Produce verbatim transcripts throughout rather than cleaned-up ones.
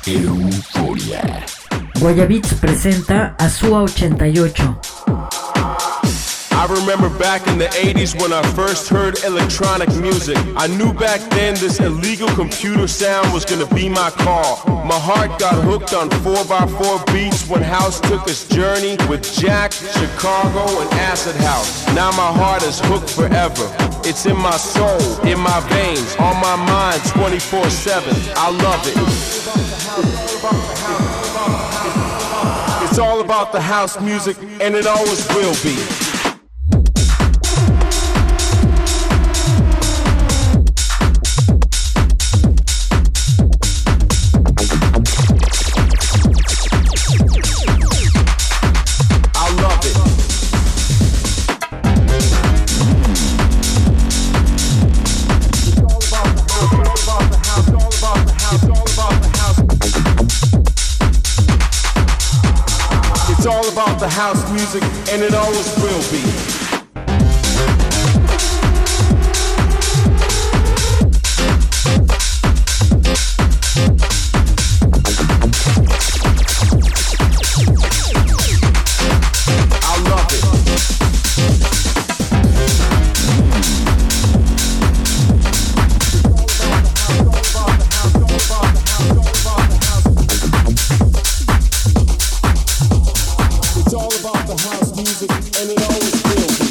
Euforia. Guayabits presenta a Sua ochenta y ocho. I remember back in the eighties when I first heard electronic music. I knew back then this illegal computer sound was gonna be my call. My heart got hooked on four by four beats when house took its journey with Jack, Chicago, and Acid House. Now my heart is hooked forever. It's in my soul, in my veins, on my mind twenty-four seven. I love it. It's all about the house music, and it always will be. About the house music, and it always will be. It's all about the house music, and it always will be.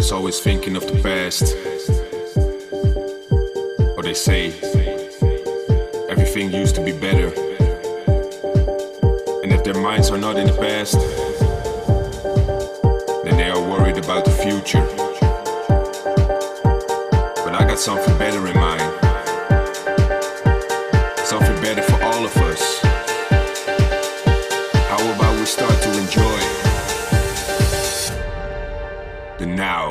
is always thinking of the past. Or they say everything used to be better. And if their minds are not in the past, then they are worried about the future. But I got something better in mind. Something better for all of us. How about we start to enjoy the now?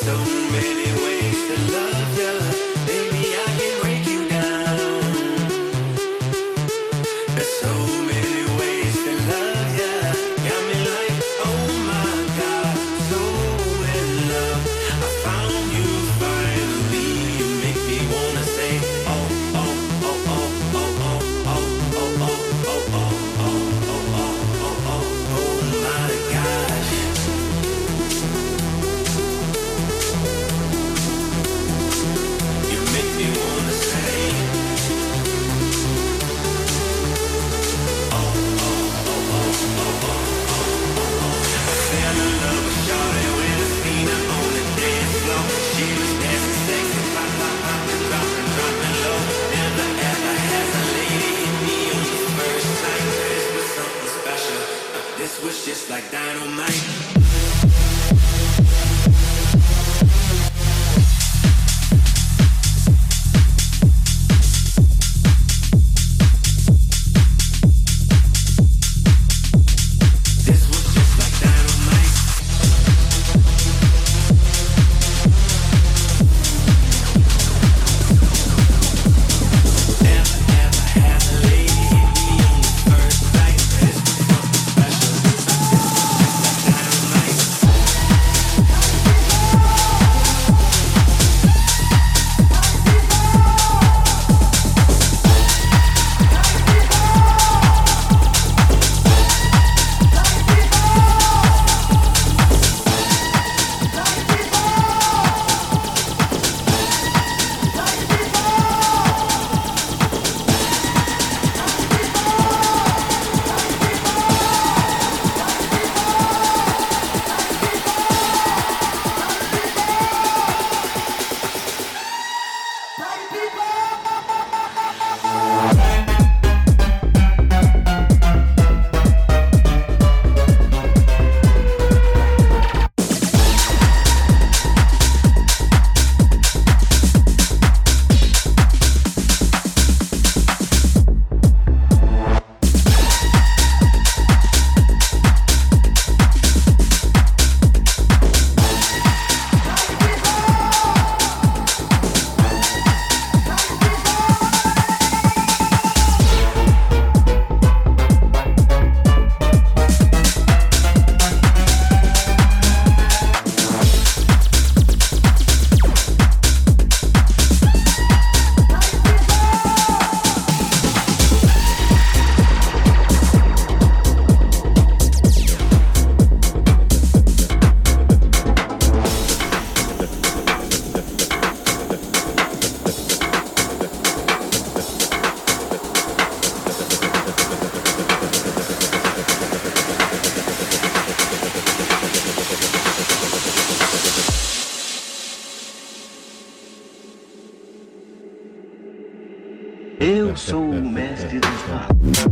Eu sou o mestre dos magos.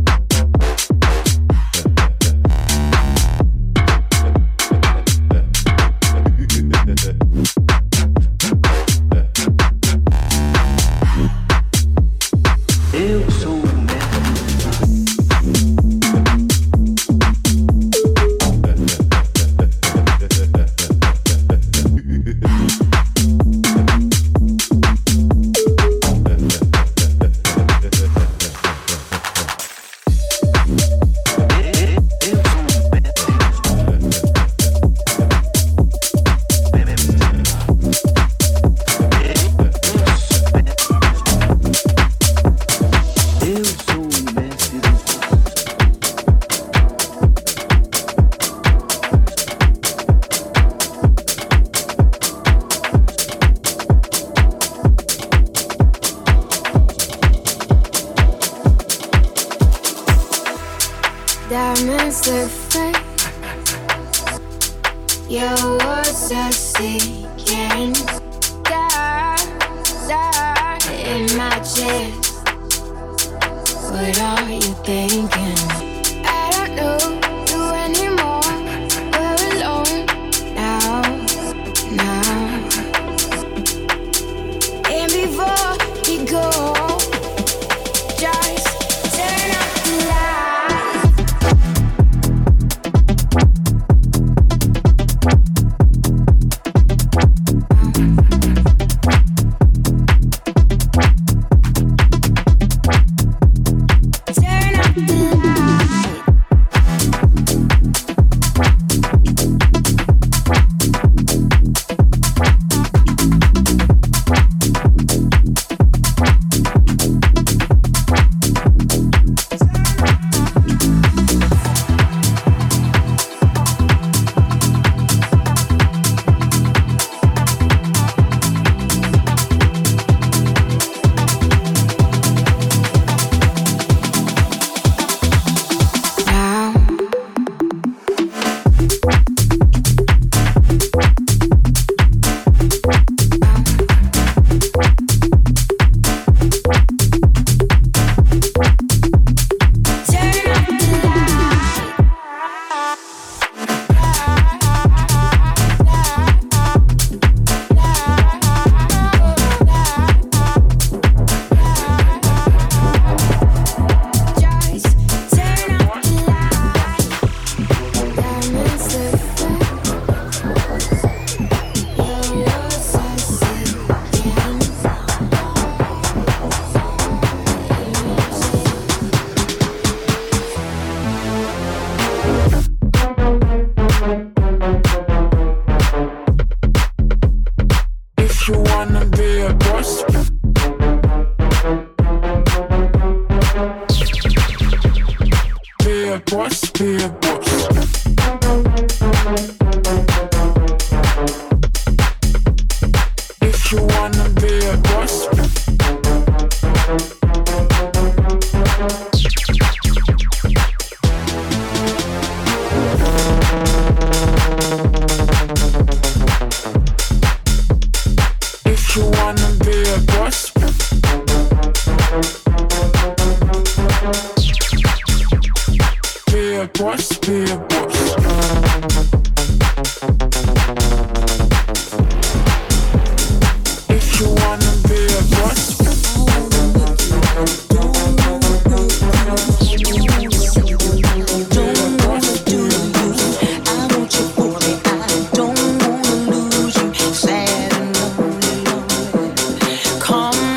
Eu sou o mestre dos Diamonds look fake. Your words are sinking. Dark, dark in my chest. What are you thinking? I don't know you anymore. We're alone now, now. And before you go, just turn off the light. wanna be a boss, be a boss, be a boss. If you wanna be a boss, if you wanna be a boss, be a boss, be a boss. If you wanna be a boss, Come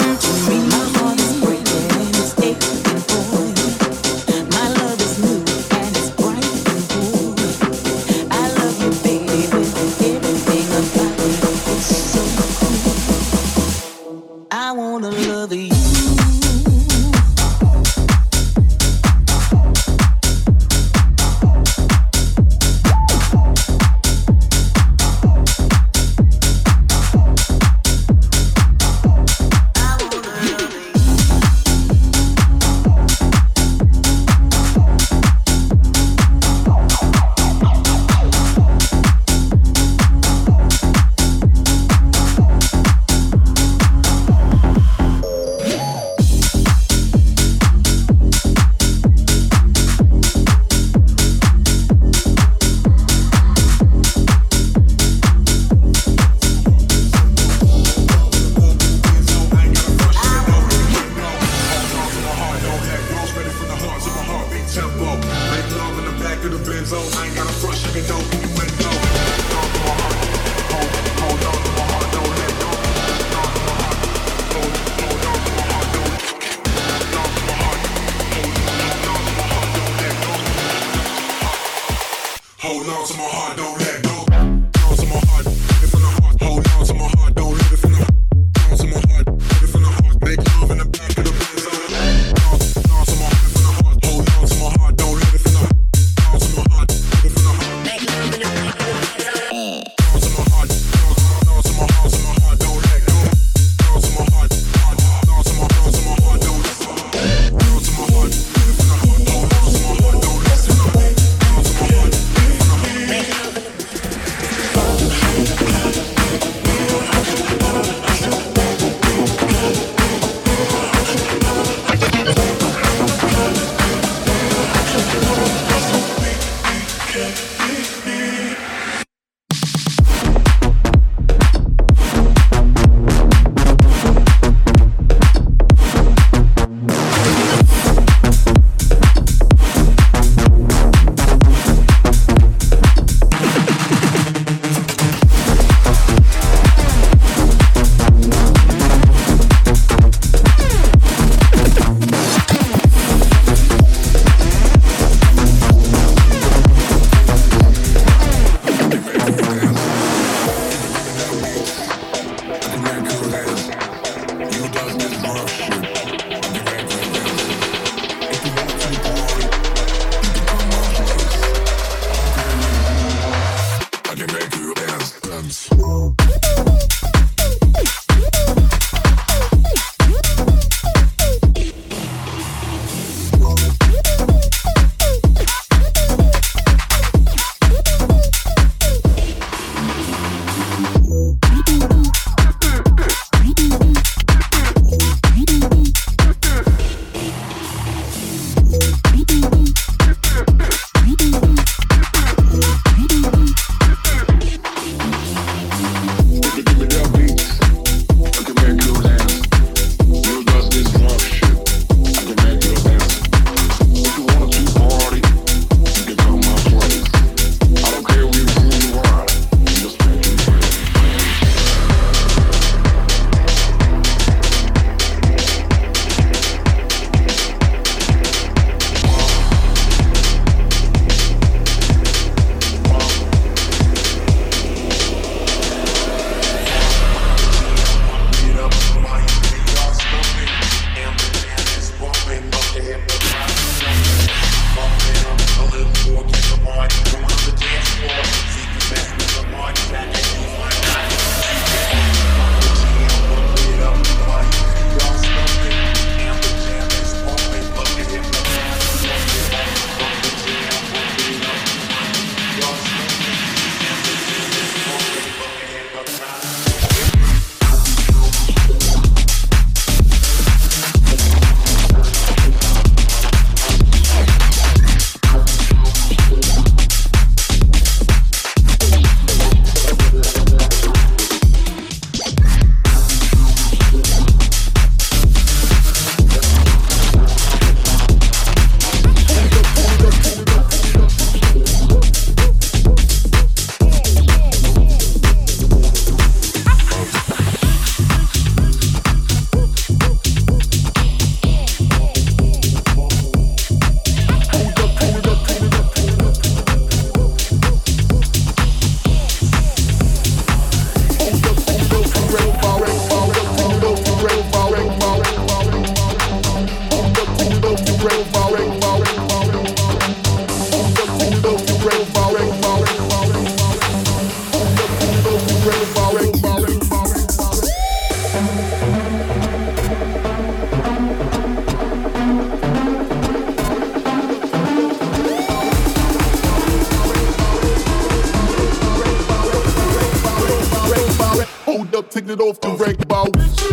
up, take it off the rank bow.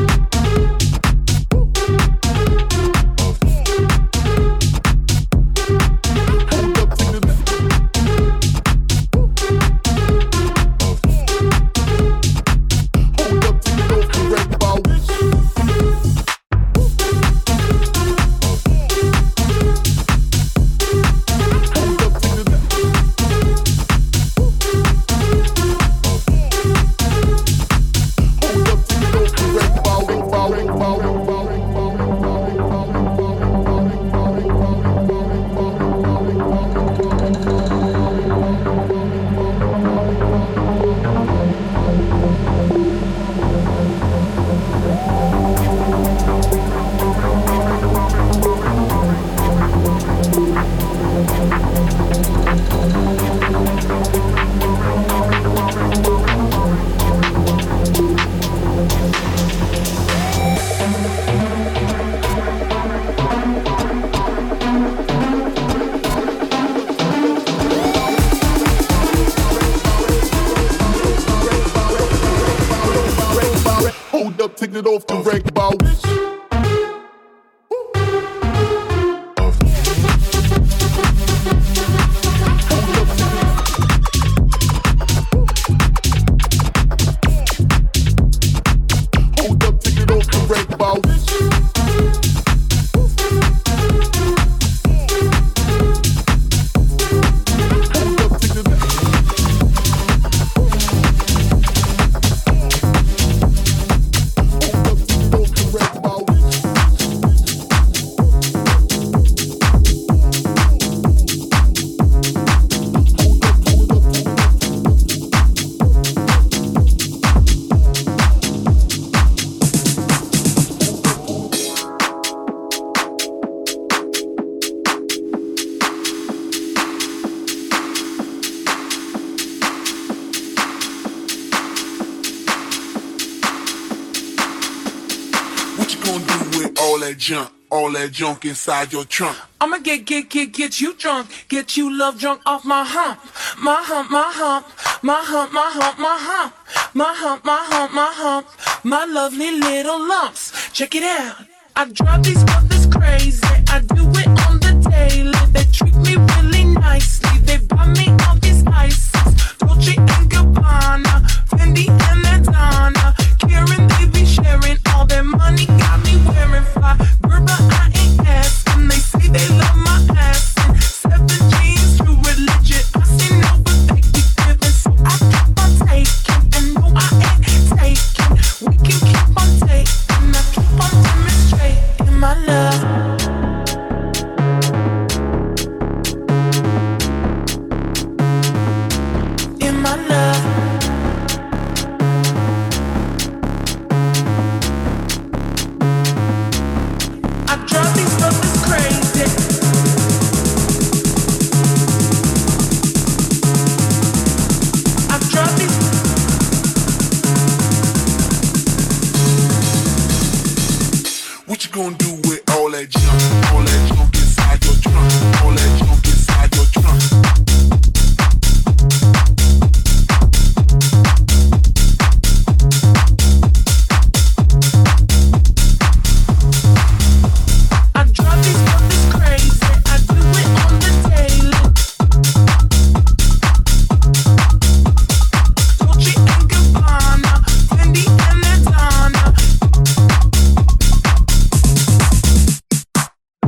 Take it off the rank bow. Hold up, take it off the rank bow. Junk, all that junk inside your trunk. I'ma get, get, get, get you drunk, get you love drunk off my hump, my hump, my hump, my hump, my hump, my hump, my hump, my hump, my hump, my lovely little lumps. Check it out. I drive these brothers crazy. I do it on the daily. They treat me really nicely. They buy me all these ices, Dolce and Gabbana, Fendi and Adana. Karen, they be sharing all their money. Got me wearing fly. Gerber, I ain't asking. They say they love my ass. And seven jeans, true religion. I say no, but they keep giving. So I keep on taking. And no, I ain't taking. We can keep on taking. I keep on demonstrating my love. In my love. What you gonna do with all that junk? All that junk inside your trunk. All that junk inside your trunk. I drive these brothers crazy. I do it on the daily. Dolce and Gabbana, Fendi and Adana.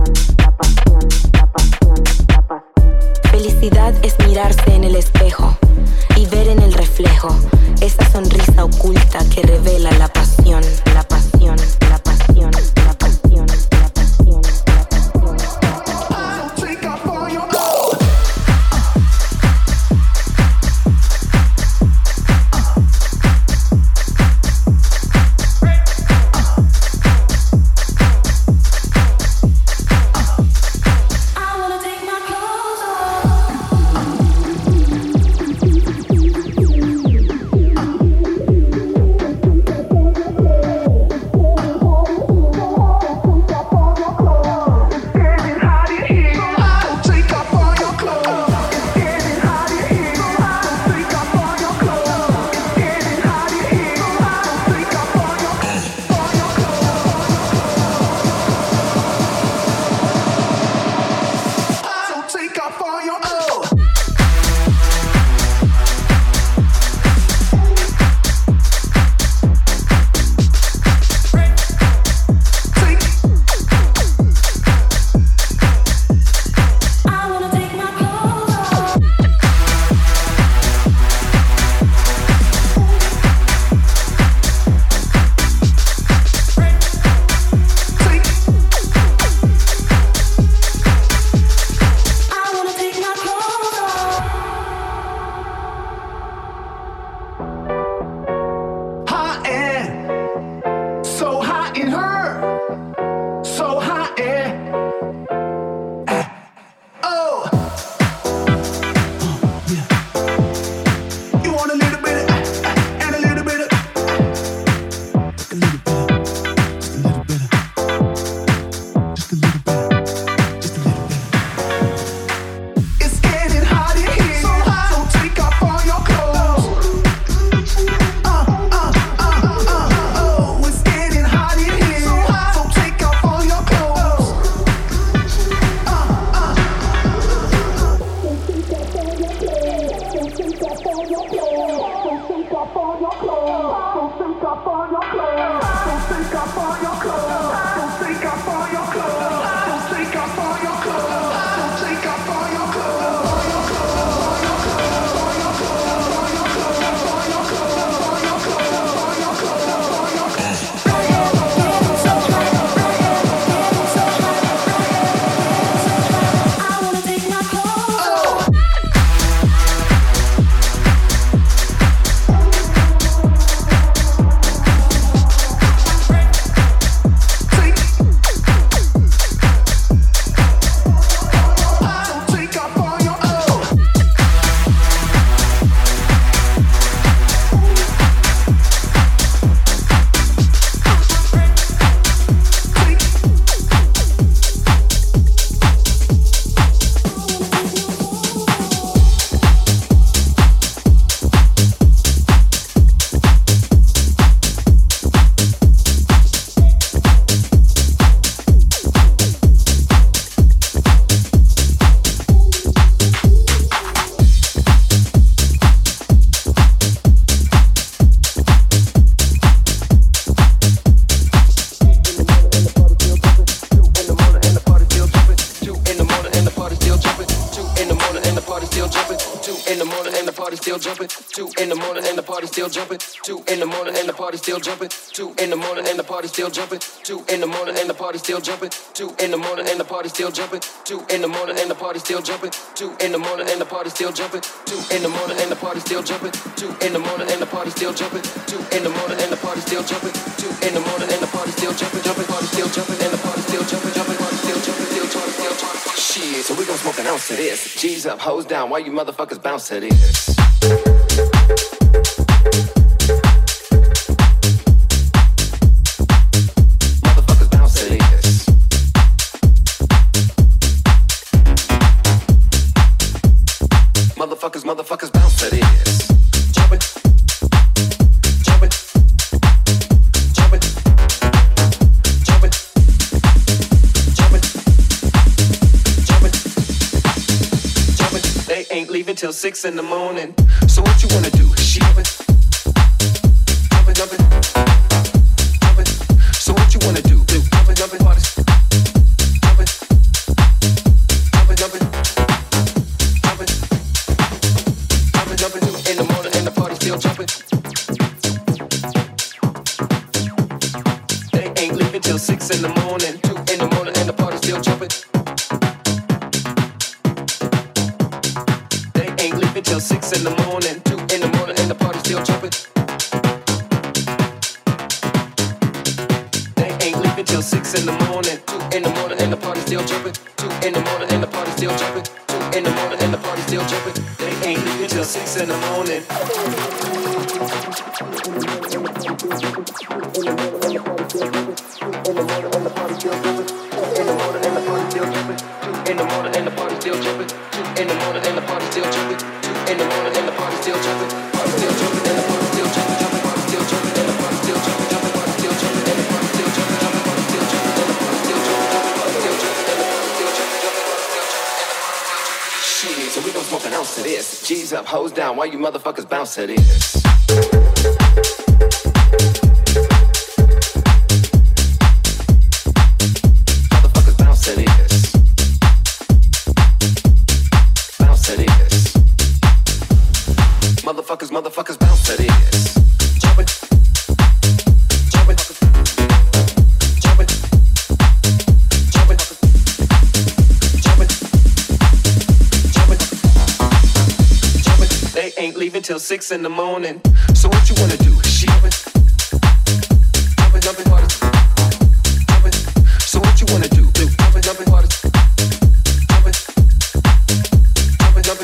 Felicidad es mirarse en el espejo y ver en el reflejo esa sonrisa oculta que revela la pasión, la pasión, la pasión, la pasión, la pasión, la pasión. Take off all your still jumping. Two in the morning and the party still jumping. Two in the morning and the party still jumping. Two in the morning and the party still jumping. Two in the morning and the party still jumping. Two in the morning and the party still jumping. Two in the morning and the party still jumping. Two in the morning and the party still jumping. Two in the morning and the party still jumping. Two in the morning and the party still jumping. Two in the morning and the party still jumping. Jumping, party still jumping and the party still jumping. Jumping, party still jumping. Still jumping, still jumping. Shit, so we gon' smoke an ounce of this. G's up, hoes down. Why you motherfuckers bounce to this? Motherfuckers bounce to this. till six in the morning. So what you wanna do? Jumping, jumping, jumping, jumping. So what you wanna do? Jumping, jumping, party. Jumping, jumping, jumping, jumping, jumping, jumping. In the morning and the party still jumping. They ain't leaving till six in the morning. Two in the morning and the party still jumping. Till six in the morning, two in the morning, and the party still jumping. They ain't leaving till six in the morning, two in the morning, and the party still jumping. Two in the morning, and the party still jumping. Two in the morning, and the party still jumping. They ain't leaving till six in the morning. In the morning, and the party still jumping. In the morning, and the party still jumping. In the morning, and the party still jumping. In the morning, and the party still jumping. In the morning, and the party still jumping. Party still jumping, and the party still jumping, jumping. Party still jumping, and the party still jumping, jumping. Party still jumping, and the party still jumping, jumping. Party still jumping, and the party still jumping, jumping. Party still jumping, and the party still jumping, jumping. Party still jumping, and the party still jumping. Shit, so we gon' smoke an ounce of this. G's up, hoes down. Why you motherfuckers bounce to this? Motherfuckers, motherfuckers bounce to this. Jumpin', jumpin', jumpin', jumpin', jumpin', jumpin', jumpin'. They ain't leaving till six in the morning. So what you wanna do? Jumpin', jumpin', jumpin', party. Jumpin'. So what you wanna do? Jumpin', jumpin', party. Jumpin', jumpin', jumpin'.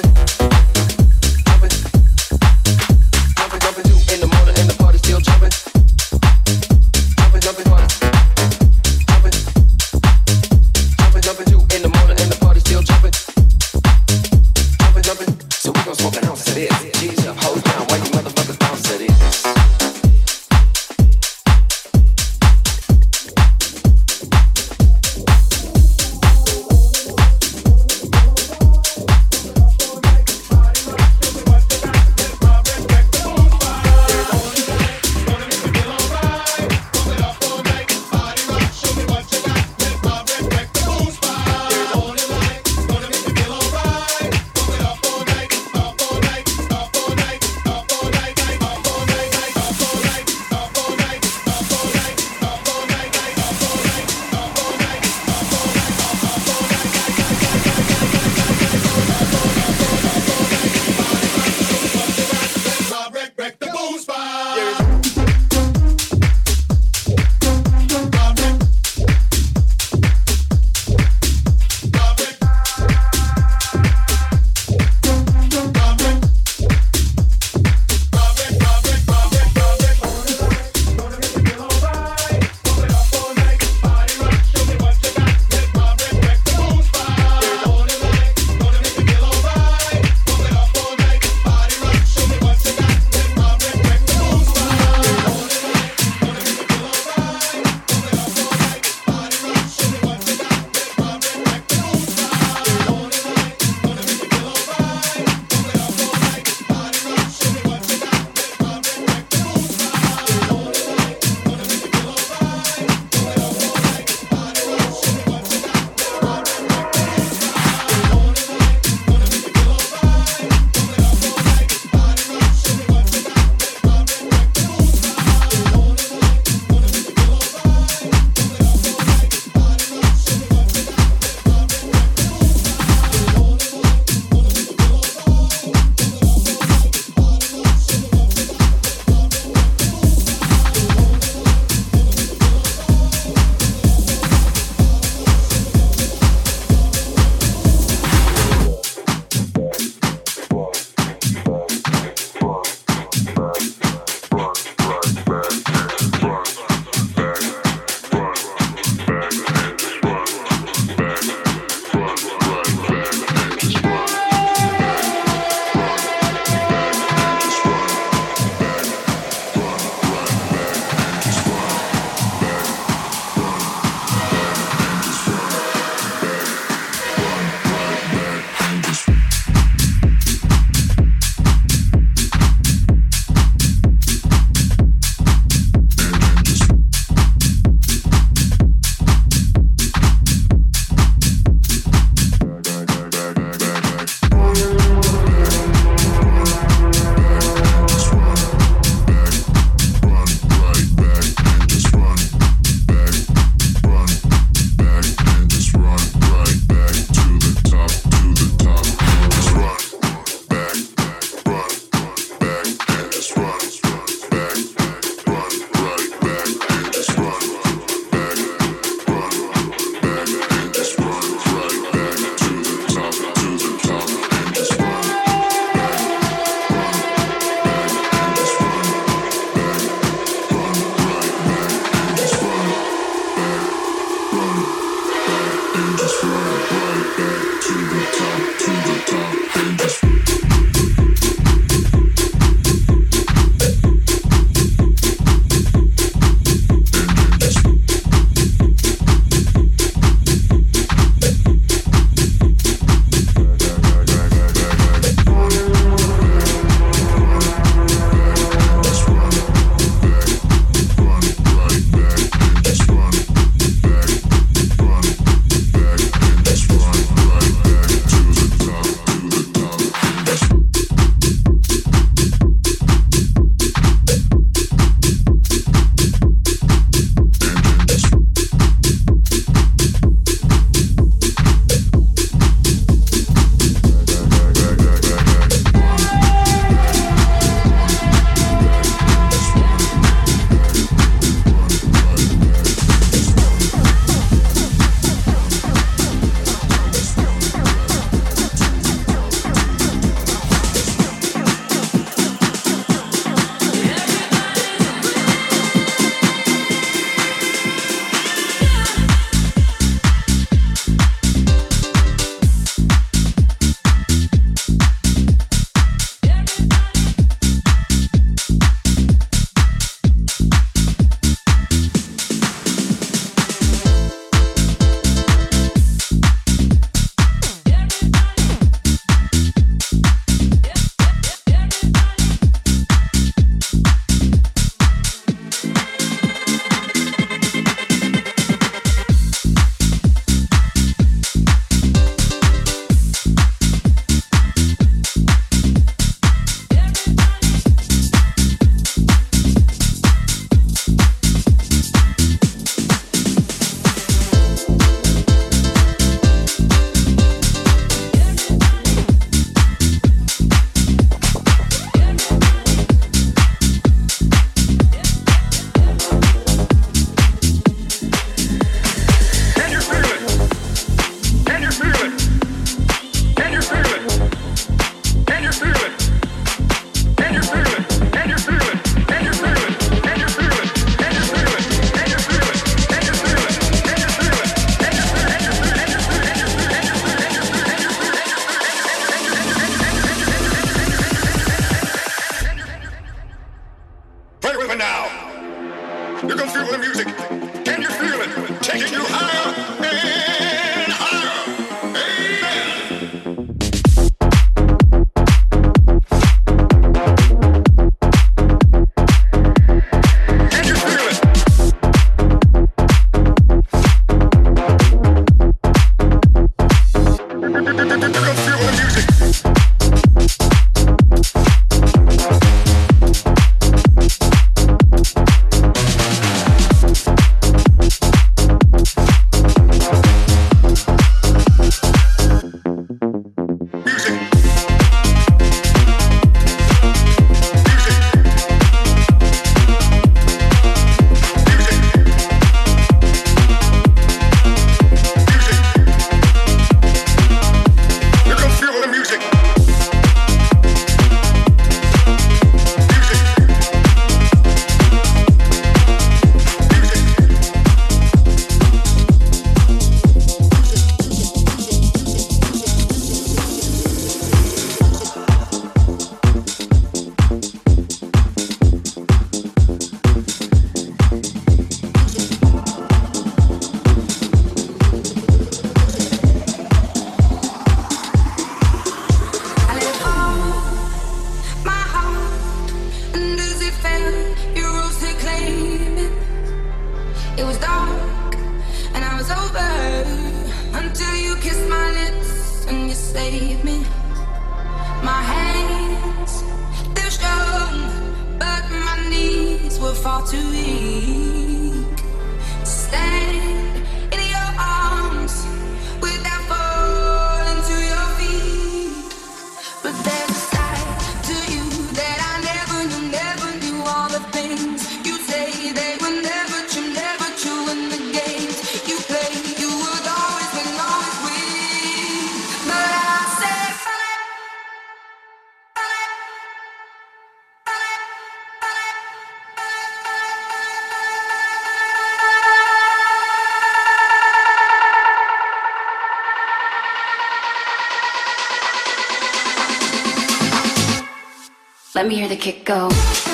Let me hear the kick go.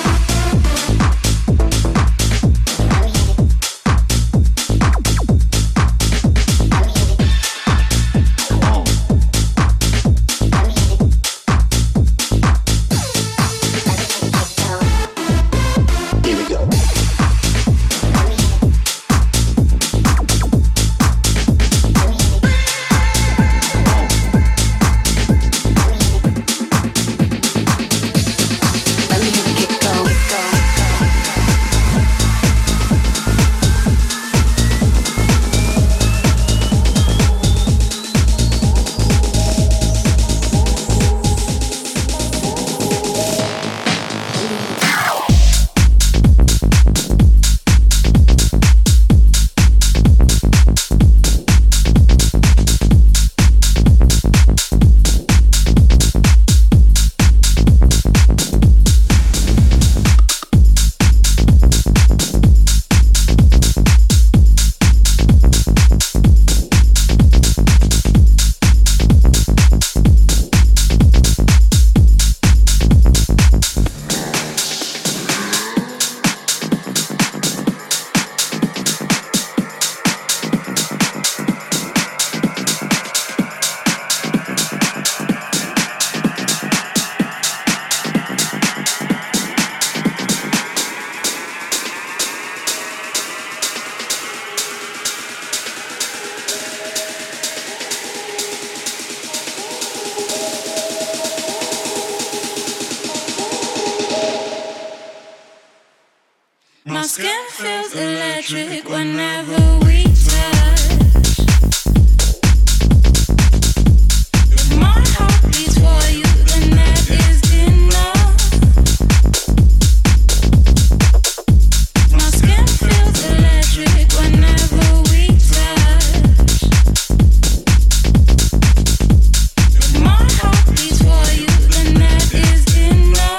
My skin feels electric whenever we touch. My heart beats for you, and that is enough. My skin feels electric whenever we touch. My heart beats for you, and that is enough.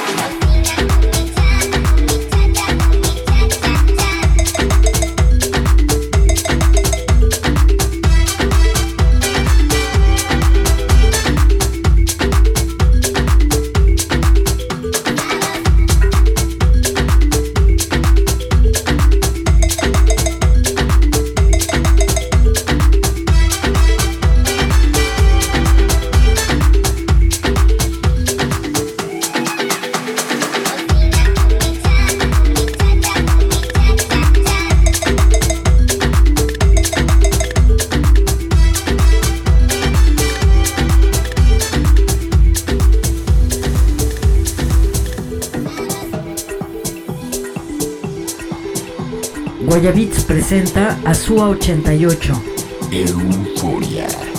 Guayabits presenta a Sua ochenta y ocho. Euforia.